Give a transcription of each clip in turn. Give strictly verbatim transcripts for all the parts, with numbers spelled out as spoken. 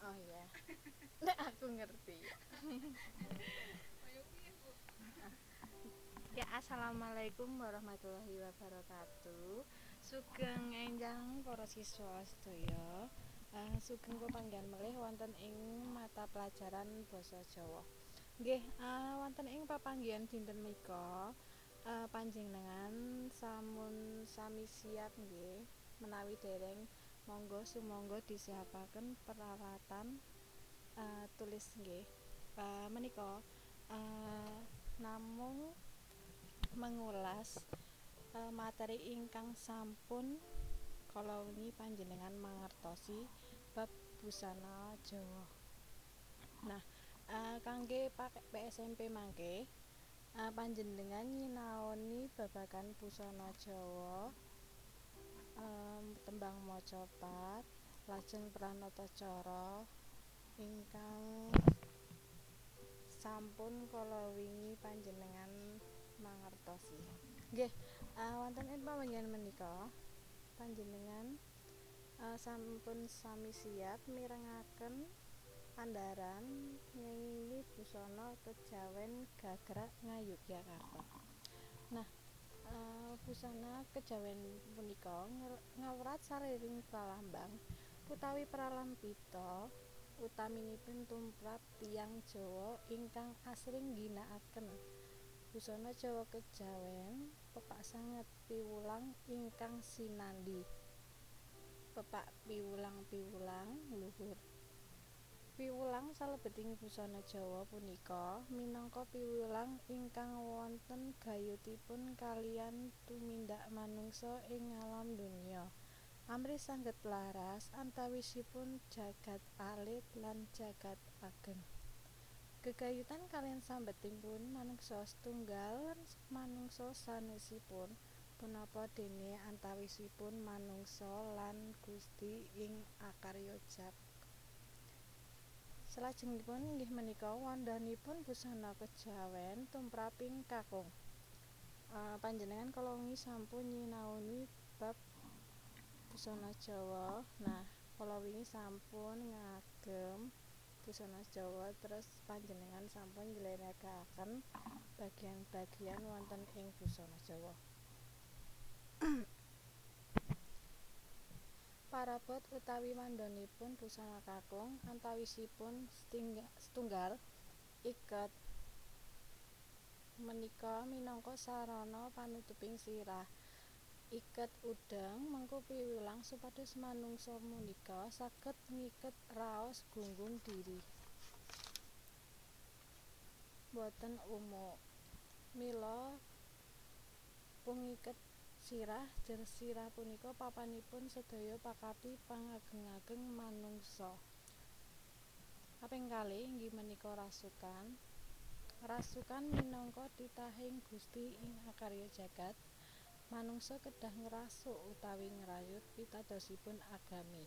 Oh iya. Nek aku ngerti. Ya, assalamualaikum warahmatullahi wabarakatuh. Sugeng enjang para siswa sedaya. Uh, sugeng pepanggihan malih wonten ing mata pelajaran basa Jawa. Nggih, uh, wonten ing pepanggihan dinten menika uh, panjenengan samun sami siap nggih menawi dereng monggo sumangga disiapaken peralatan uh, tulis nggih. Uh, menika uh, namung mengulas uh, materi ingkang sampun kala wingi panjenengan mangertosi bab busana Jawa. Nah, uh, kangge pakai P S M P mangke uh, panjenengan nyinaoni babagan busana Jawa, um, tembang macapat, lajeng pranata cara ingkang sampun kala wingi panjenengan mangertosi. Nggih, uh, wonten ing pamanggihan menika panjenengan uh, sampun sami siap mirengaken andharan ngèngingi busana kejawen gagrak Ngayogyakarta. Nah, uh, busana kejawen punika ngawrat sariring pralambang utawi pralampita utaminipun tumrap tiyang Jawa ingkang asring ngginakaken busana Jawa kejawen pepak sanget piwulang ingkang sinandhi. Pepak piwulang-piwulang luhur. Piwulang salebeting busana Jawa punika minangka piwulang ingkang wonten gayutipun kaliyan tumindak manungsa ing alam donya. Amrih sanget laras antawisipun jagat alit lan jagat ageng. Gegayutan kaliyan sambetingipun manungsa setunggal lan manungsa sanesipun punapa dene antawisipun manungsa lan Gusti ing akarya jagat. Salajengipun inggih menika wandhanipun busana kejawen tumraping kakung. Uh, panjenengan kala wingi sampun nyinaoni bab busana Jawa. Nah, kala wingi sampun ngagem busana Jawa, terus panjenengan sampun njlentrehake bagian-bagian wonten ing busana Jawa. Parabot utawi wandhanipun busana kakung antawisipun setunggal iket menika minangka sarana panutuping sirah. Iket udeng mengku piwulang supados manungsa punika saged ngiket raos gunggung dhiri. Boten umuk. Mila pungiket sirah jer sirah punika papanipun sedaya pakapi pangageng-ageng manungsa. Kaping kalih inggih menika rasukan. Rasukan minangka titahing Gusti ing akarya jagat. Manungsa kedah ngrasuk utawi ngrayut pitadosipun agami.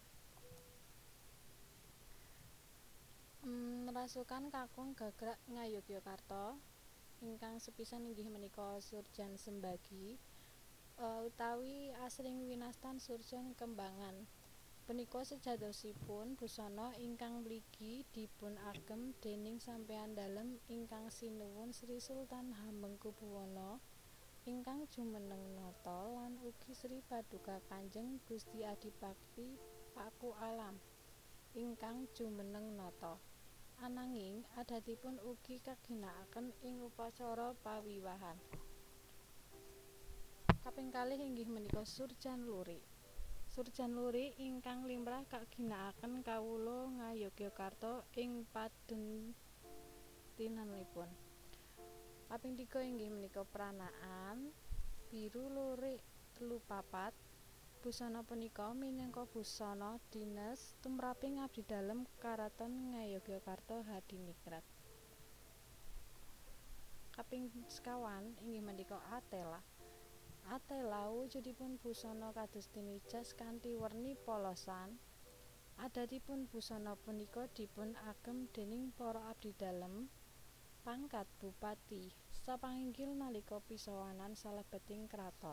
Hmm, rasukan kakung gagrak Ngayogyakarta ingkang sepisan inggih menika Surjan Sembagi uh, utawi asring winastan Surjan Kembangan. Punika sejatosipun busana ingkang mligi dipun agem déning Sampeyan Dalem ingkang sinuwun Sri Sultan Hamengkubuwana ingkang jumeneng nata lan ugi Sri Paduka Kanjeng Gusti Adipati Paku Alam ingkang jumeneng nata. Ananging adatipun ugi kaginakaken ing upacara pawiwahan. Kaping kalih inggih menika Surjan Lurik. Surjan Lurik ingkang limrah kaginakaken kawula Ngayogyakarta ing paduntinanipun. Kaping tiga inggih menika Pranaan Biru Lurik telu papat. Busana punika minangka busana dinas tumraping abdi dalem Karaton Ngayogyakarta Hadiningrat. Kaping sekawan inggih menika Atela. Atela wujudipun busana kados dene jas kanthi werni polosan. Adatipun busana punika dipun agem déning para abdi dalem pangkat bupati sapanginggil nalika pisawanan salebeting kraton.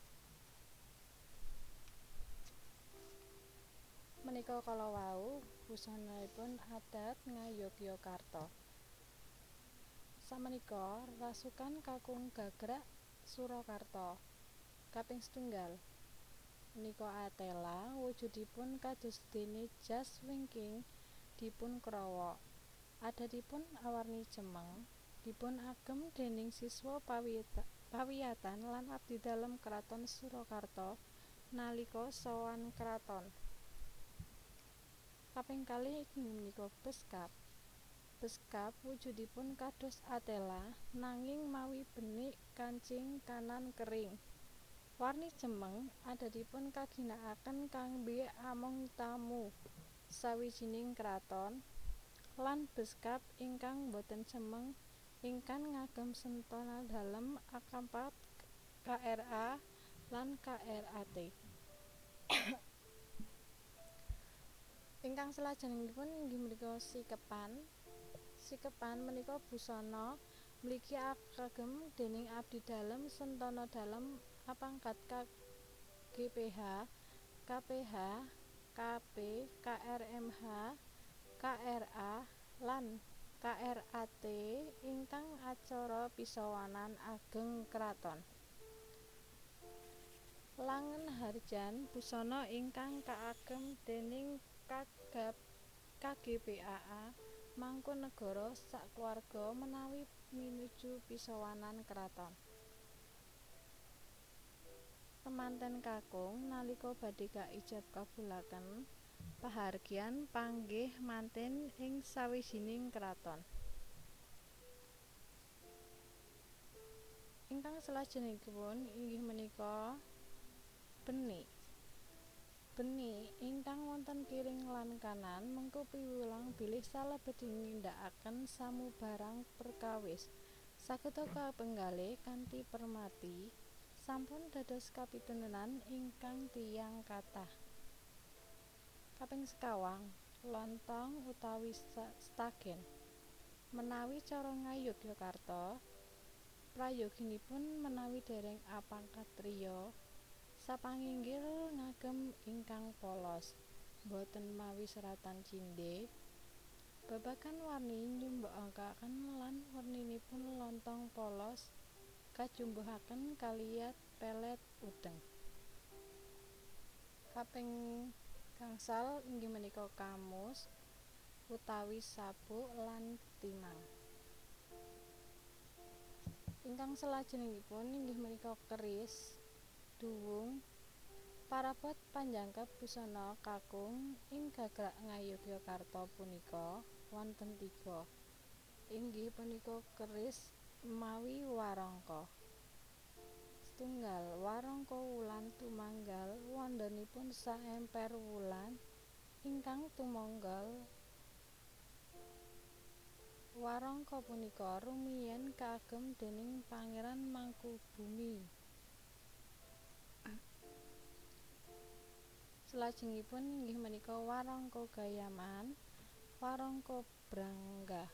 Menika kala wau busananipun adat Ngayogyakarta. Samenika rasukan kakung gagrak Surakarta. Kaping setunggal punika Atela wujudipun kados dene jas wingking dipun krowok. Adatipun awarni cemeng, dipun agem déning siswa pawiyatan lan abdidalem Kraton Surakarta nalika sowan kraton. Kaping kalih inggih punika beskap. Beskap wujudipun kados Atela nanging mawi benik kancing kanan kering. Warni cemeng adatipun kaginakaken kanggé among tamu sawijining kraton lan beskap ingkang boten cemeng ingkang ngagem sentana dalem A K empat K R A lan K R A T. Ingkang salajengipun inggih punika sikepan. Sikepan menika busana mligi kagem déning abdi dalem sentana dalem A pangkat K G P H, K P H, K P, K R M H, K R A, lan K R A T ingkang acara pisawanan ageng kraton. Langen Harjan busana ingkang kaagem déning Kagab K G P A A Mangkunagara sakluwarga menawi pinuju pisawanan kraton. Kemanten kakung nalika badhe kaijab kabulaken pahargyan panggih manten ing sawijining kraton. Ingkang salajengipun inggih menika benik. Benik ingkang wonten kiring lan kanan mengku piwulang bilih salebetipun nindakaken samubarang perkawis. Saged kapenggalih kanthi permati sampun dados kapitunanan ingkang tiyang kathah. Kaping sekawang lontong utawi stagen. Menawi cara Ngayogyakarta prayoginipun menawi dereng A pangkat triya sapanginggil ngagem ingkang polos, boten mawi seratan cindhe. Babagan warni nyumbakaken lan werninipun lontong polos kajumbuhaken kaliyan pelet udeng. Kaping gangsal inggih menika kamus utawi sabuk lan timang. Ingkang salajengipun inggih menika keris, duwung, parabot panjangkep busana kakung ing gagrak Ngayogyakarta punika wonten tiga. Inggih punika keris mawi warangka. Setunggal warangka wulan tumanggal wondhanipun saemper wulan ingkang tumanggal. Warangka punika rumiyin kaagem déning Pangeran Mangkubumi. Salajengipun inggih menika warangka Gayaman, warangka Branggah.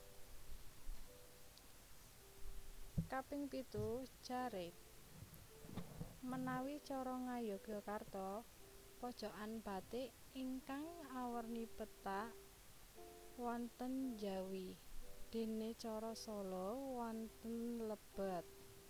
Kaping pitu jarit. Menawi cara Ngayogyakarta pojokan batik ingkang awerni pethak wonten njawi, déné cara Solo wonten lebat.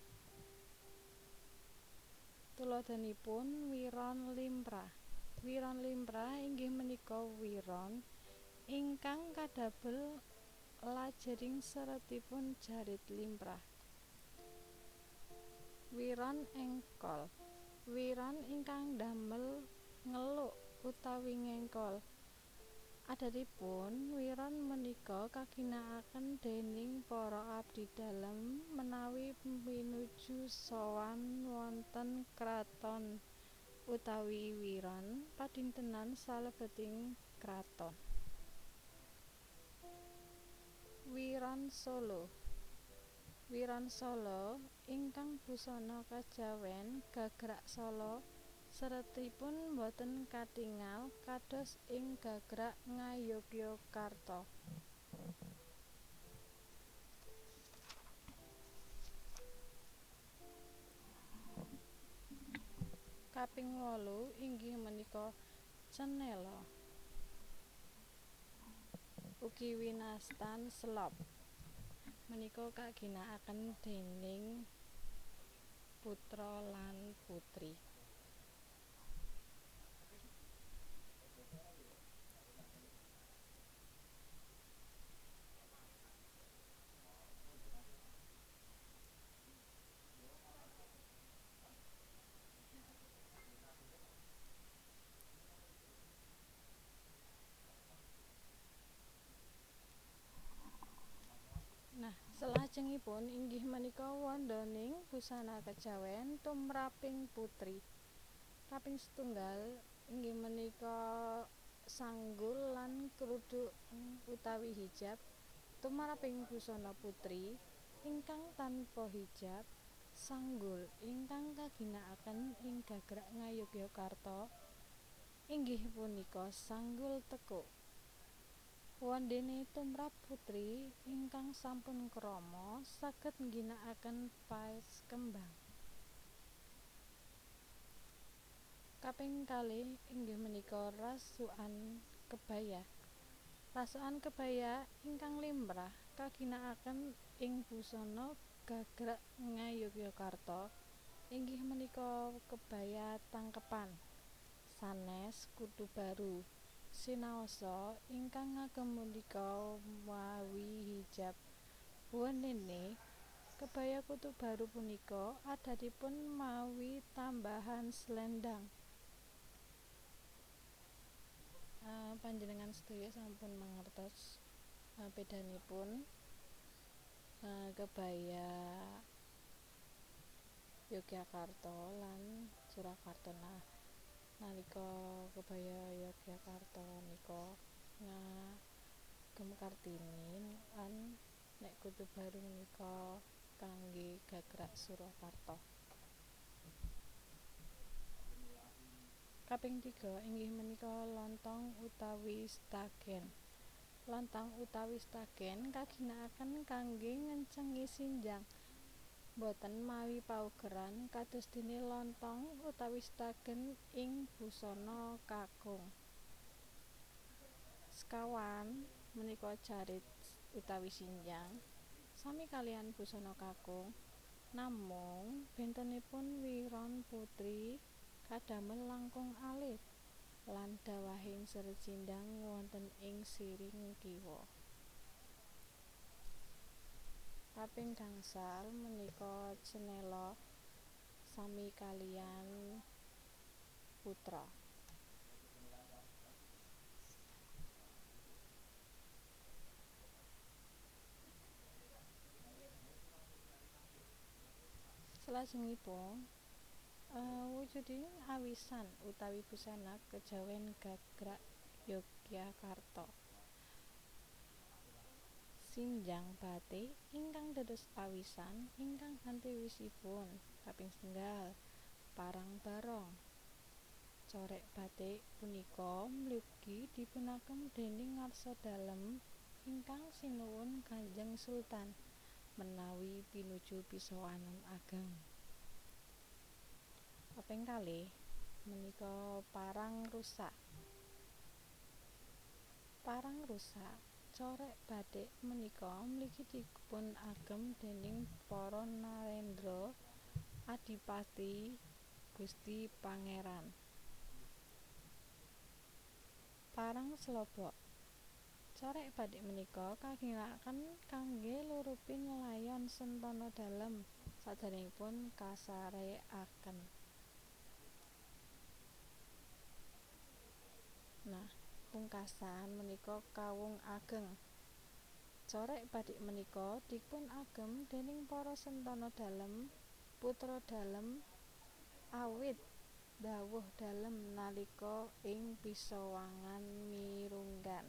Tuladhanipun wiron limrah. Wiron limrah inggih menika wiron ingkang kadamel lajeng seretipun jarit limrah. Wiron engkol. Wiron ingkang damel ngeluk utawi ngengkol. Adatipun wiron menika kaginakaken déning para abdi dalem menawi pinuju sowan wonten kraton utawi wiron padintenan salebeting kraton. Wiron Solo. Wiron Solo ingkang busana kajawèn gagrak Solo seretipun boten katingal kados ing gagrak Ngayogyakarta. Kaping wolu inggih menika cenela. Ugi winastan selop menika kaginakaken déning putra lan putri. Nah, salajengipun inggih menika wondaning busana kejawen tumraping putri. Kaping setunggal inggih menika sanggul lan kruduk utawi hijab tumraping busana putri ingkang tanpa hijab. Sanggul ingkang kaginakaken ing Gagrak Ngayogyakarta inggih punika sanggul tekuk. Wondene tumrap putri ingkang sampun krama saged ngginakaken paes kembang. Kaping kalih inggih menika rasukan kebaya. Rasukan kebaya ingkang limrah kaginakaken ing busana Gagrak Ngayogyakarta inggih menika kebaya tangkepan sanes kudu baru. Sinaosa ingkang ngagem punika mawi hijab. Wondene kebaya kutu baru punika adatipun mawi tambahan slendang. Uh, panjenengan sedaya sampun mangertos uh, bedanipun uh, kebaya Yogyakarta lan Surakarta. Nah, nalika kebaya Yogyakarta nika ngagem Kartini lan nek kutu baru menika kangge Gagrak Surakarta. Kaping tiga inggih menika lontong utawi stagen. Lontong utawi stagen kaginakaken kangge ngencengi sinjang. Boten mawi paugeran kados dene lontong utawi stagen ing busana kakung. Sekawan menika jarit utawi sinjang sami kaliyan busana kakung, namung bentenipun wiron putri kadamel langkung alit lan dawahing serat sindang wonten ing siring kiwa. Kaping gangsal menika cenela sami kaliyan putra. Salajengipun Uh, wujudipun awisan utawi busana kejawen Gagrak Yogyakarta. Sinjang batik ingkang dados awisan ingkang antiwisipun. Kaping setunggal parang barong. Corek batik punika mligi dipunagem déning ngarsa dalem ingkang sinuwun Kanjeng Sultan menawi pinuju pisowanan ageng. Kaping kalih menika parang rusak. Parang rusak corek batik menika mligi dipun agem déning para Narendra Adipati Gusti Pangeran. Parang slobok. Corek batik menika kaginakaken kangge lurupin layon Sentana Dalem saderengipun kasarèkaken. Nah, pungkasan menika kawung ageng. Corek batik menika dipun agem déning para Sentana Dalem, putra dalem awit dhawuh dalem nalika ing pisowangan mirunggan.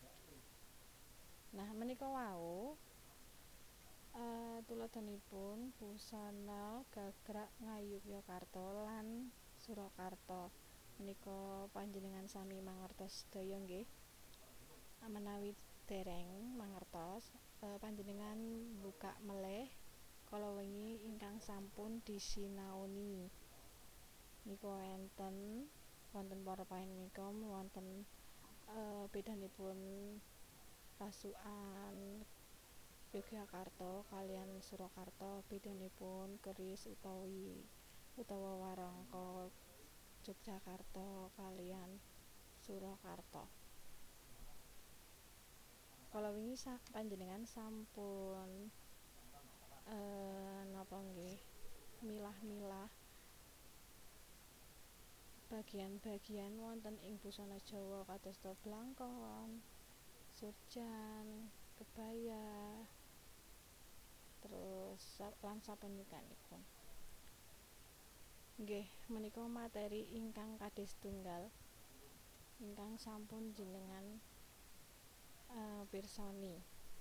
Nah, menika wau uh, tuladhanipun busana Gagrak Ngayogyakarta lan Surakarta. Menika panjenengan sami mangertos sedaya nggih. Menawi dereng mangertos, uh, panjenengan buka meleh kala wengi ingkang sampun disinaoni. Nika enten wonten para panemika wonten uh, bedanipun Pasukan Yogyakarta kaliyan Surakarta bédanipun keris utawi utawa warangka Yogyakarta kaliyan Surakarta. Kala wingi sak panjenengan sampun eh, napa nggih milah-milah bagian-bagian wonten ing busana Jawa kadosta blangkon, surjan, kebaya, terus lan sapunika-nipun. Nggih, menika materi ingkang kadis tunggal ingkang sampun jenengan uh, pirsani.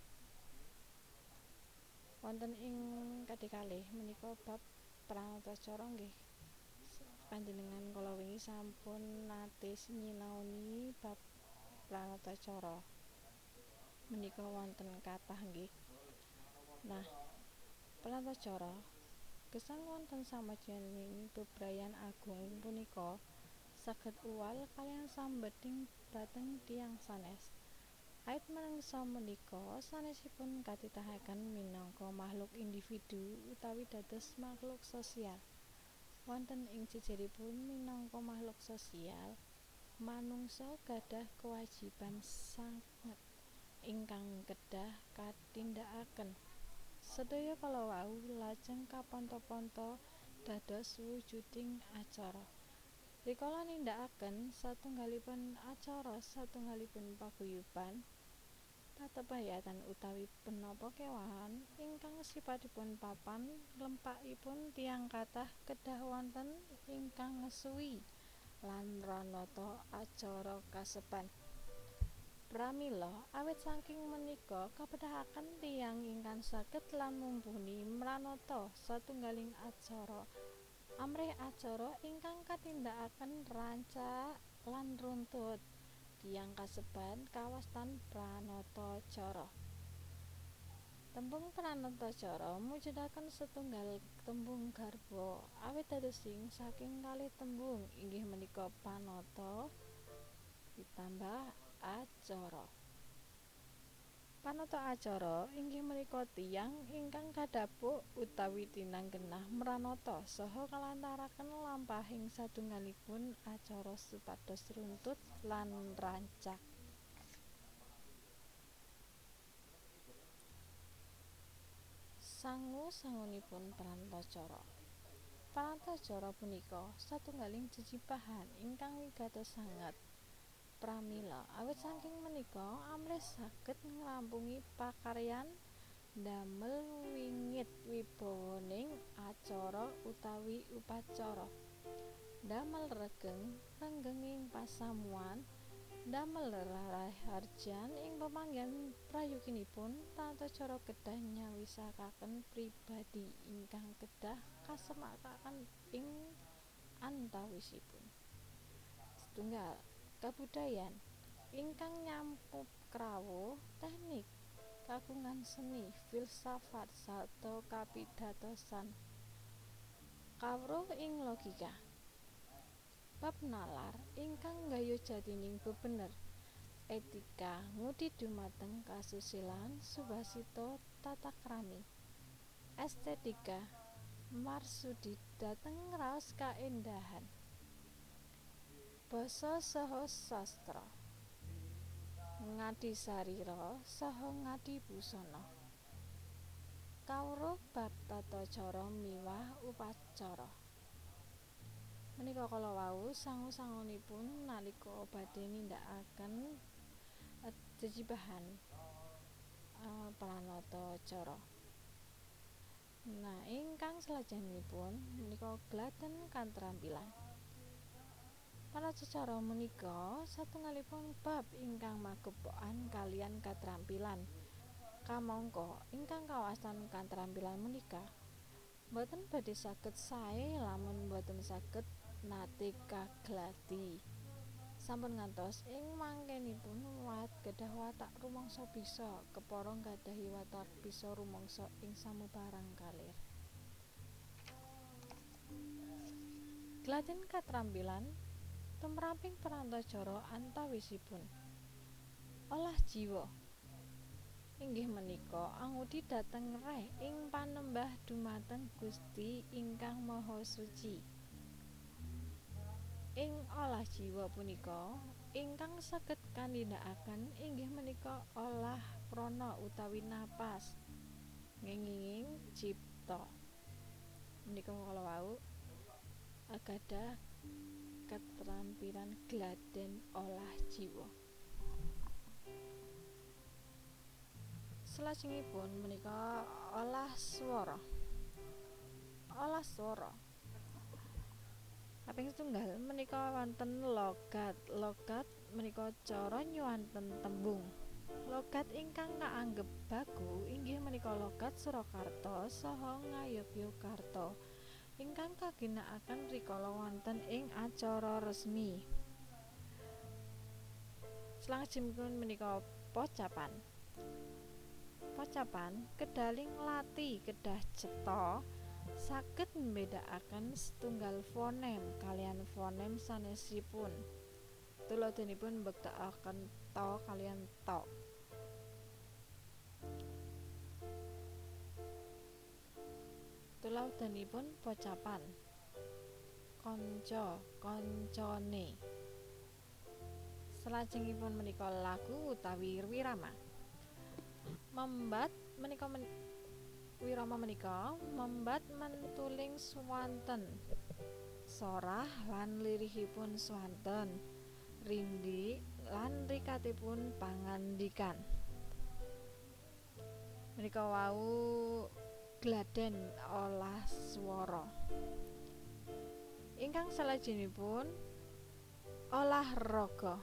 Wonten ing kadikalih menika bab pranatacara nggih. Panjenengan kala wingi sampun nate nyinaoni bab pranatacara. Menika wonten kathah nggih. Nah, pranatacara gesang wonten samajaning bebrayan agung punika saged uwal kaliyan sambeting dhateng tiyang sanes. Ait manungsa menika sanesipun katitahaken minangka makhluk individu utawi dados makhluk sosial. Wonten ing jejeripun minangka makhluk sosial, manungsa gadhah kewajiban sanget ingkang kedah katindakaken. Sedaya kalawau lajeng kaponto-ponto dados wujuding acara. Rikala nindakaken satunggalipun acara satunggalipun paguyuban, patebayatan utawi punapa kéwahan ingkang sipatipun papan lempakipun tiyang kathah kedah wonten ingkang ngesui lan mranata acara kaseban. Pramila awit saking menika kapedahaken tiyang ingkang saged lan mumpuni mranata satunggaling acara amrih acara ingkang katindakaken rancak lan runtut. Tiyang kasebat kawastan pranatacara. Tembung pranatacara mujudaken setunggal tembung garba awit dadosing saking kalih tembung inggih menika panata ditambah acara. Panata acara inggih menika tiyang ingkang kadhapuk utawi tinanggenah mranata saha kalantaraken lampahing satunggalipun acara supados runtut lan rancak. Sangu-sangunipun pranatacara. Pranatacara punika satunggaling jejibahan ingkang wigatos sanget. Pramila awit saking menika amrih saged ngrampungi pakaryan damel wingit wibawaning acara utawi upacara, damel regeng renggenging pasamuan, damel raharjan ing pamanggihan prayoginipun. Pranatacara kedah nyawisakaken pribadi ingkang kedah kasemakaken ing antawisipun. Setunggal kabudayan ingkang nyampuk krawuh teknik, kagungan seni, filsafat sarta kapidatosan kawruh ing logika. Bab nalar ingkang nggayuh jatining bebener, etika ngudi dumateng kasusilaan, subasita tatakrami, estetika marsudi dhateng raos kaéndahan, basa saha sastra, ngadi sarira saha ngadi busana. Kawruh bab tata cara miwah upacara. Menika kalawau sangu-sangunipun nalika badhe nindakaken jejibahan uh, pranatacara. Nah, ingkang salajengipun menika glaten katrampilan. Pranatacara menika satunggalipun bab ingkang magepokan kaliyan katrampilan. Kamangka ingkang kawastan katrampilan menika boten badhe saged sae lamun boten saged nate kaglati. Sampun ngantos ing mangkenipun wat kedah watak rumangsa bisa kepara nggadhahi watak bisa rumangsa ing samubarang kalir. Glaten katrampilan tumraping pranatacara antawisipun olah jiwa. inggih menika angudi dhateng reh ing panembah dhumateng Gusti ingkang Maha Suci. Ing olah jiwa punika ingkang saged kanindakaken inggih menika olah prana utawi napas ngénging cipta. Menika kalawau gadhah ketrampilan gladhen olah jiwa. Salajengipun menika olah swara. Olah swara kaping setunggal menika wonten logat. Logat menika cara nyuwanten tembung. Logat ingkang kaanggep baku inggih menika logat Surakarta saha Ngayogyakarta ingkang kaginakaken rikala wonten ing acara resmi. Salajengipun menika pocapan. Pocapan kedaling lati kedah cetha saged mbedakaken setunggal fonem kaliyan fonem sanesipun. Tuladhanipun mbektakaken ta kaliyan ta. Tuladhanipun pocapan kanca kancane. Salajengipun menika lagu utawi wirama. Membat menika men wirama menika membat mentuling swanten. Sorah lan lirihipun swanten. Rindi lan rikatipun pangandikan. Menika wau gladhen olah swara. Ingkang salajengipun olah raga.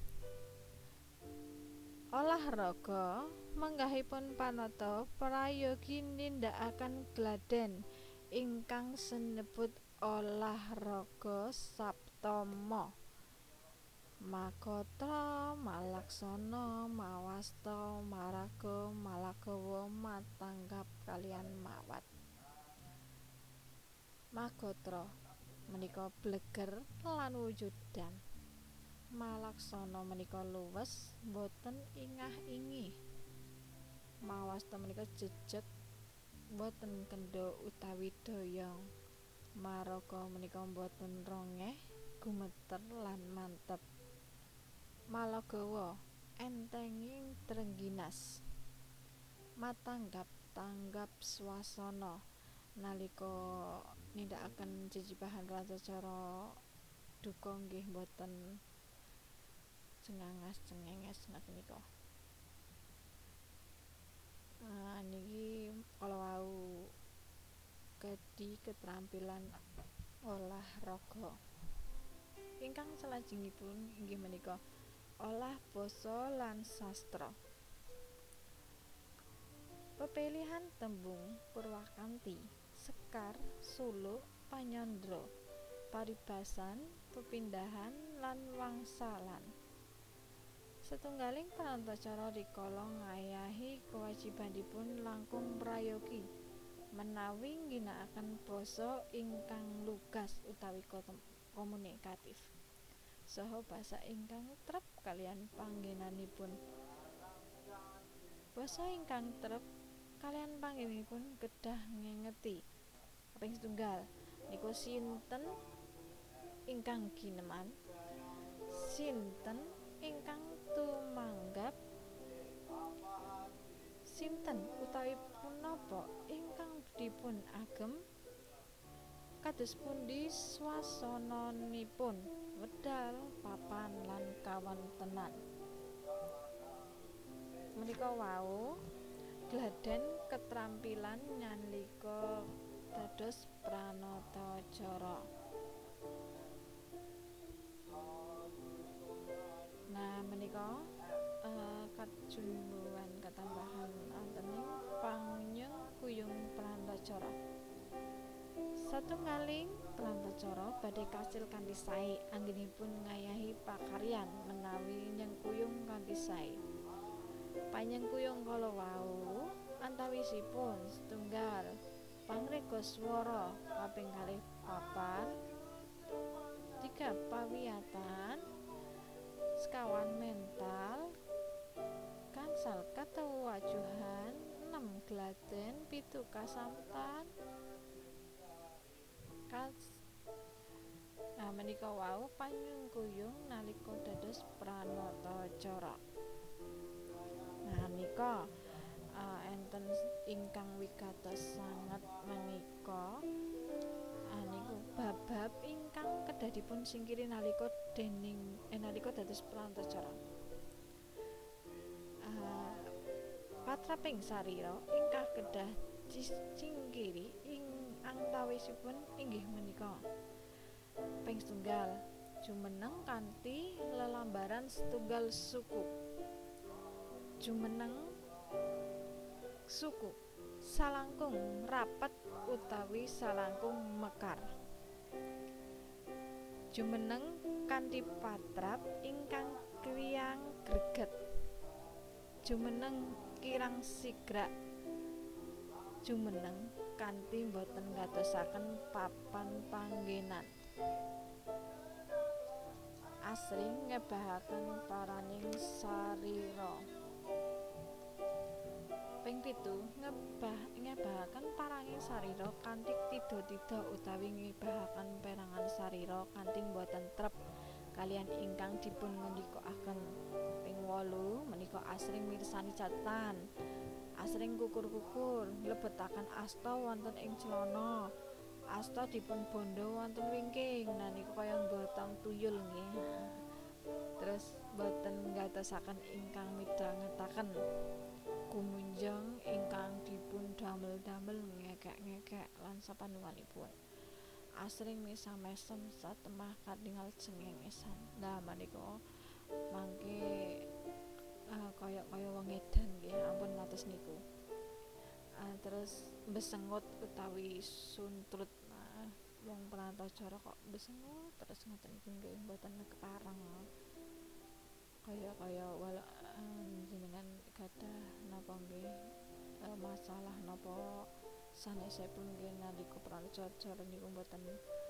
Olah raga manggahipun panata prayogi nindakaken gladhen ingkang sinebut olah raga saptama. Makatra, malaksana, mawasta, maraga, malagawa, matanggap kaliyan mawat. Magatra menika bleger lan wujudan. Malaksana menika luwes boten ingah-ingih. Mawasta menika jejeg boten kendha utawi doyong. Maraga menika boten rongeh, gumeter lan mantep. Malagawa entenging trengginas. Matanggap tanggap swasana nalika nindakaken jejibahan ratacara duka nggih boten cengangas cengenges ngaten nika. Ah niki kalawau kedhi ketrampilan olah raga. Ingkang salajengipun inggih menika olah basa lan sastra. Pepilihan tembung purwakanthi, sekar, suluk, panyandra, paribasan, pepindahan lan wangsalan. Setunggaling parantacara rikala ngayahi kewajibanipun langkung prayogi menawi ngginakaken basa ingkang lugas utawi komunikatif saha basa ingkang trep kaliyan panggenanipun. Basa ingkang trep kaliyan panggenanipun kedah ngengeti. Kaping setunggal niku sinten ingkang gineman, sinten ingkang tumanggap, sinten utawi punapa ingkang dipun agem, kados pundi swasananipun, wedal, papan lan kawontenan. Menika wau gladhen ketrampilan nalika dados pranatacara. Nah menika uh, kajumbuhan katambahan wontening panyeng kuyung pranatacara. Satunggaling pranatacara badhe kasil kanthi sae anggenipun ngayahi pakaryan menawi nyengkuyung kanthi sae. Panyengkuyung kala wau antawisipun setunggal pangreka swara, kaping kalih papan, tiga pawiyatan, sekawan mental, gangsal Katuwajuhan enem Gladhen pitu Kasamtan kas nah menika wau panyengkuyung nalika dados pranatacara. Nah nika uh, enten ingkang wigatos sanget menika uh, niku bab-bab ingkang kedah dipun singkiri nalika dening eh, nalika dados pranatacara. Uh, patraping sarira ingkang kedah disingkiri ing antawisipun inggih menika ping setunggal jumeneng kanthi lelambaran setunggal suku. Jumeneng suku salangkung rapet utawi salangkung mekar. Jumeneng kanthi patrap ingkang kriyang greget. Jumeneng kirang sigrak. Jumeneng kanthi boten ngatosaken papan panggenan. Asring ngebahaken paraning sarira. Ping pitu ngebah ngebahaken paranging sarira kanthi tida-tida utawi ngebahaken perangan sarira kanthi boten trep kaliyan ingkang dipun ngendikaaken. Ping wolu menika asring mirsani catatan, asring kukur-kukur nglebetaken asta wonten ing celana, asta dipun bondo wonten wingking. Nah niku kaya nggotong tuyul nggih. Terus boten ngatosaken ingkang midhangetaken. Kumunjang ingkang dipun damel-damel ngekek-ngekek lan sapanungalipun. Asring mesa-mesem satemah katingal cengengesan. Lah menika mangke uh, kaya-kaya wong edan nggih, ampun ngatos niku. Uh, terus besengut utawi suntrut. Nah, wong pranatacara kok besengut terus ngoten niku nggih mboten kepareng. Kaya-kaya wala uh, jenengan gadah napa nggih uh, masalah napa sanesipun nggih nalika pranatacara niku mboten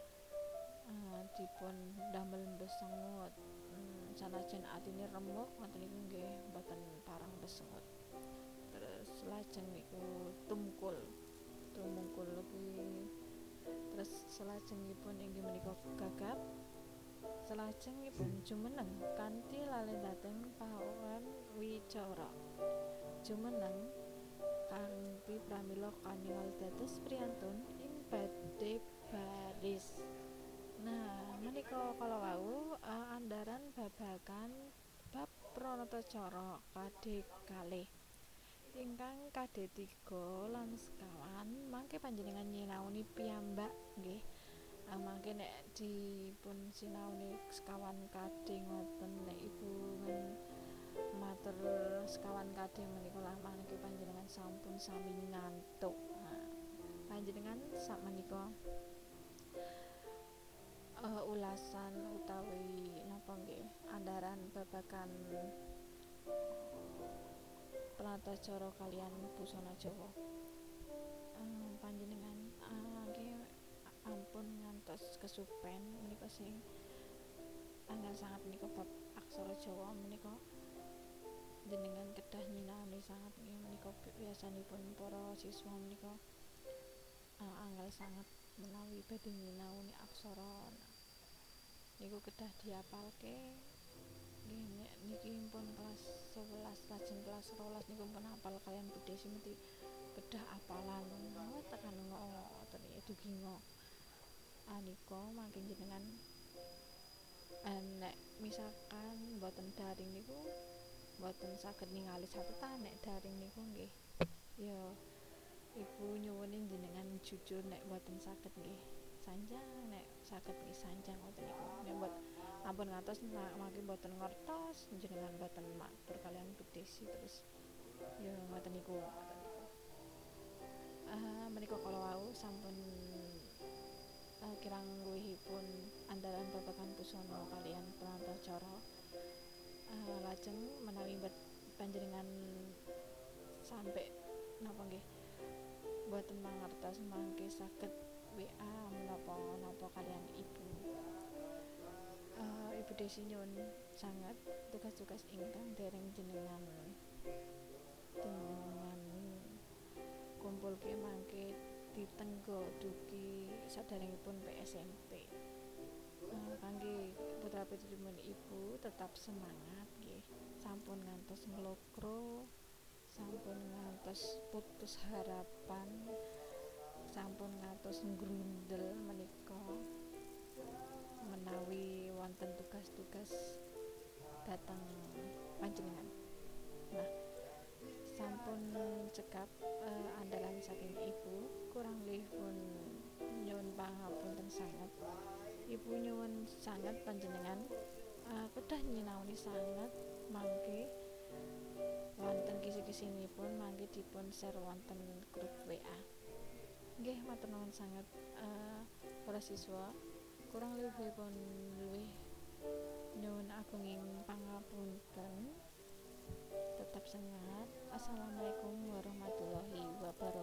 uh, dipun damel besengut. Hmm, sanajan atine remuk ngoten niku nggih mboten parang besengut. Terus lajeng niku tumkul tumungkul lagi. Terus salajengipun inggih menika gagap. Salajengipun jumeneng kanthi lalendating pauran wicara. Jumeneng kanthi pramila kaningal dados priyantun ing badhe baris. Nah menika kala wau uh, andharan babagan bab pranatacara kadhe kalih. Ingkang kadhe tiga lan sekawan mangke panjenengan nyinaoni piyambak nggih. Uh, mangke nek dipun sinaoni sekawan kadhe ngoten nek ibu ngen matur sekawan kadhe menika lah mangke panjenengan sampun sami ngantuk. Nah, panjenengan sak menika uh, ulasan utawi napa nggih andharan babagan pranatacara kaliyan busana Jawa. Uh, panjenengan uh, nggih ampun ngantos kesupen menika sing angel sangat menika bab aksara Jawa menika jenengan kedah nyinaoni sangat nggih menika biasanipun para siswa menika uh, angel sangat menawi badhe nyinaoni aksara. Nah, niku kedah diapalke nggih nek niki pun kelas sewelas lajeng kelas rolas niku pun hafal kalian budhe simeti kedah apalan oh tekan ngoten ya dugi ngo anika mangke jenengan uh, nek misalkan mboten daring niku mboten saged ningali catatan. Nek daring niku nggih ya ibu nyuwunin jenengan jujur nek mboten saged nggih sanjang, nek saged nggih sanjang ngoten niku. Nek mbot ampun ngatos mangke mboten ngertos jenengan mboten matur kalian bedesi terus ya ngoten niku ngoten niku. Uh, menika kala wau sampun uh, kirang luwihipun andharan babagan busana kaliyan pranatacara. Uh, lajeng menawi panjenengan sampai napa nggih mboten mangertos mangke saged W A menapa-napa kaliyan ibu. Uh, ibu Desi nyuwun sangat tugas-tugas ingkang dereng jenengan dengan kumpulke mangke ditenggo dugi saderengipun P S M P. Uh, kangge putra putrinipun ibu tetap semangat nggih. Sampun ngantos nglokro, sampun ngantos putus harapan, sampun ngantos nggrundel menika menawi wonten tugas-tugas dhateng panjenengan. Nah, sampun cekap uh, andalan saking ibu, kurang luwihipun nyuwun pangapunten sanget. Ibu nyuwun sanget panjenengan uh, kedah nyinaoni sanget mangke wonten kisi-kisinipun mangke dipun share wonten grup W A. Nggih matur nuwun sanget uh, para siswa. Kurang luwihipun luwih nyuwun agunging pangapunten. Tetap semangat. Assalamualaikum warahmatullahi wabarakatuh.